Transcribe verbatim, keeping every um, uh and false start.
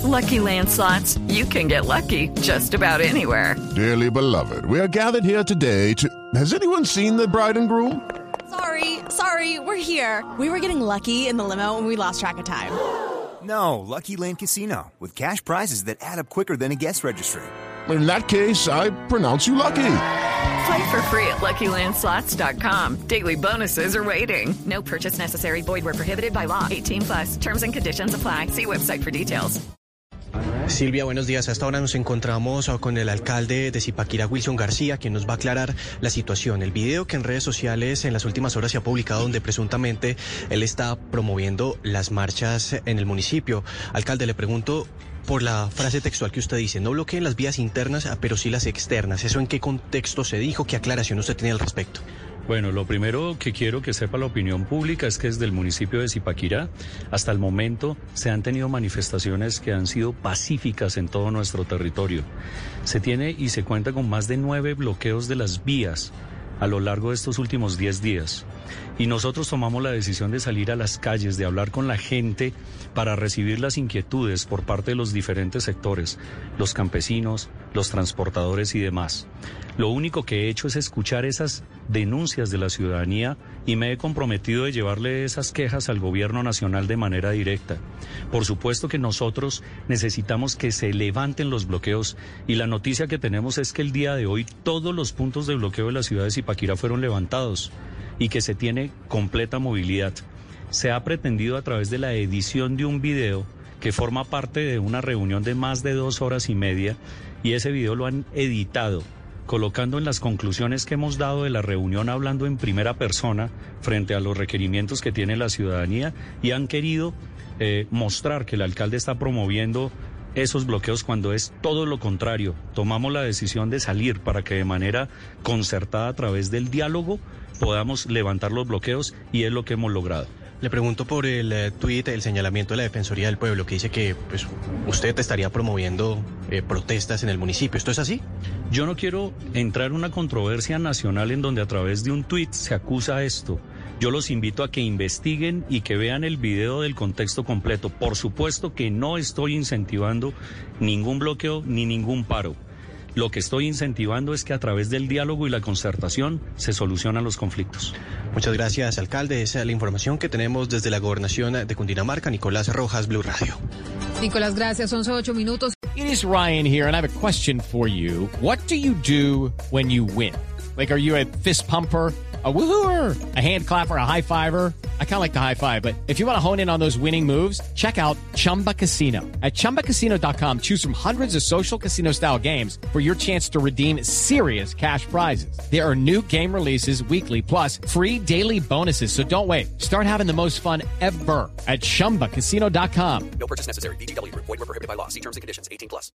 Lucky Land Slots, you can get lucky just about anywhere. Dearly beloved, we are gathered here today to... Has anyone seen the bride and groom? Sorry, sorry, we're here. We were getting lucky in the limo and we lost track of time. No, Lucky Land Casino, with cash prizes that add up quicker than a guest registry. In that case, I pronounce you lucky. Play for free at Lucky Land Slots dot com. Daily bonuses are waiting. No purchase necessary. Void where prohibited by law. eighteen plus. Terms and conditions apply. See website for details. Silvia, buenos días. Hasta ahora nos encontramos con el alcalde de Zipaquirá, Wilson García, quien nos va a aclarar la situación. El video que en redes sociales en las últimas horas se ha publicado donde presuntamente él está promoviendo las marchas en el municipio. Alcalde, le pregunto por la frase textual que usted dice, no bloqueen las vías internas, pero sí las externas. ¿Eso en qué contexto se dijo? ¿Qué aclaración usted tiene al respecto? Bueno, lo primero que quiero que sepa la opinión pública es que desde el municipio de Zipaquirá, hasta el momento, se han tenido manifestaciones que han sido pacíficas en todo nuestro territorio. Se tiene y se cuenta con más de nueve bloqueos de las vías a lo largo de estos últimos diez días. Y nosotros tomamos la decisión de salir a las calles, de hablar con la gente para recibir las inquietudes por parte de los diferentes sectores, los campesinos, los transportadores y demás. Lo único que he hecho es escuchar esas denuncias de la ciudadanía y me he comprometido de llevarle esas quejas al gobierno nacional de manera directa. Por supuesto que nosotros necesitamos que se levanten los bloqueos y la noticia que tenemos es que el día de hoy todos los puntos de bloqueo de la ciudad de Zipaquirá fueron levantados y que se tiene completa movilidad. Se ha pretendido a través de la edición de un video que forma parte de una reunión de más de dos horas y media y ese video lo han editado, colocando en las conclusiones que hemos dado de la reunión hablando en primera persona frente a los requerimientos que tiene la ciudadanía y han querido eh, mostrar que el alcalde está promoviendo esos bloqueos cuando es todo lo contrario. Tomamos la decisión de salir para que de manera concertada a través del diálogo podamos levantar los bloqueos y es lo que hemos logrado. Le pregunto por el eh, tuit, el señalamiento de la Defensoría del Pueblo, que dice que pues, usted estaría promoviendo eh, protestas en el municipio. ¿Esto es así? Yo no quiero entrar en una controversia nacional en donde a través de un tuit se acusa esto. Yo los invito a que investiguen y que vean el video del contexto completo. Por supuesto que no estoy incentivando ningún bloqueo ni ningún paro. Lo que estoy incentivando es que a través del diálogo y la concertación se solucionan los conflictos. Muchas gracias, alcalde. Esa es la información que tenemos desde la gobernación de Cundinamarca. Nicolás Rojas, Blue Radio. Nicolás, gracias. once ocho minutos. It is Ryan here, and I have a question for you. What do you do when you win? Like, are you a fist pumper, a woohooer, a hand clapper, a high fiver? I kind of like the high five, but if you want to hone in on those winning moves, check out Chumba Casino. At chumba casino dot com, choose from hundreds of social casino style games for your chance to redeem serious cash prizes. There are new game releases weekly, plus free daily bonuses. So don't wait. Start having the most fun ever at chumba casino dot com. No purchase necessary. V G W. Void where prohibited by law. See terms and conditions. eighteen plus.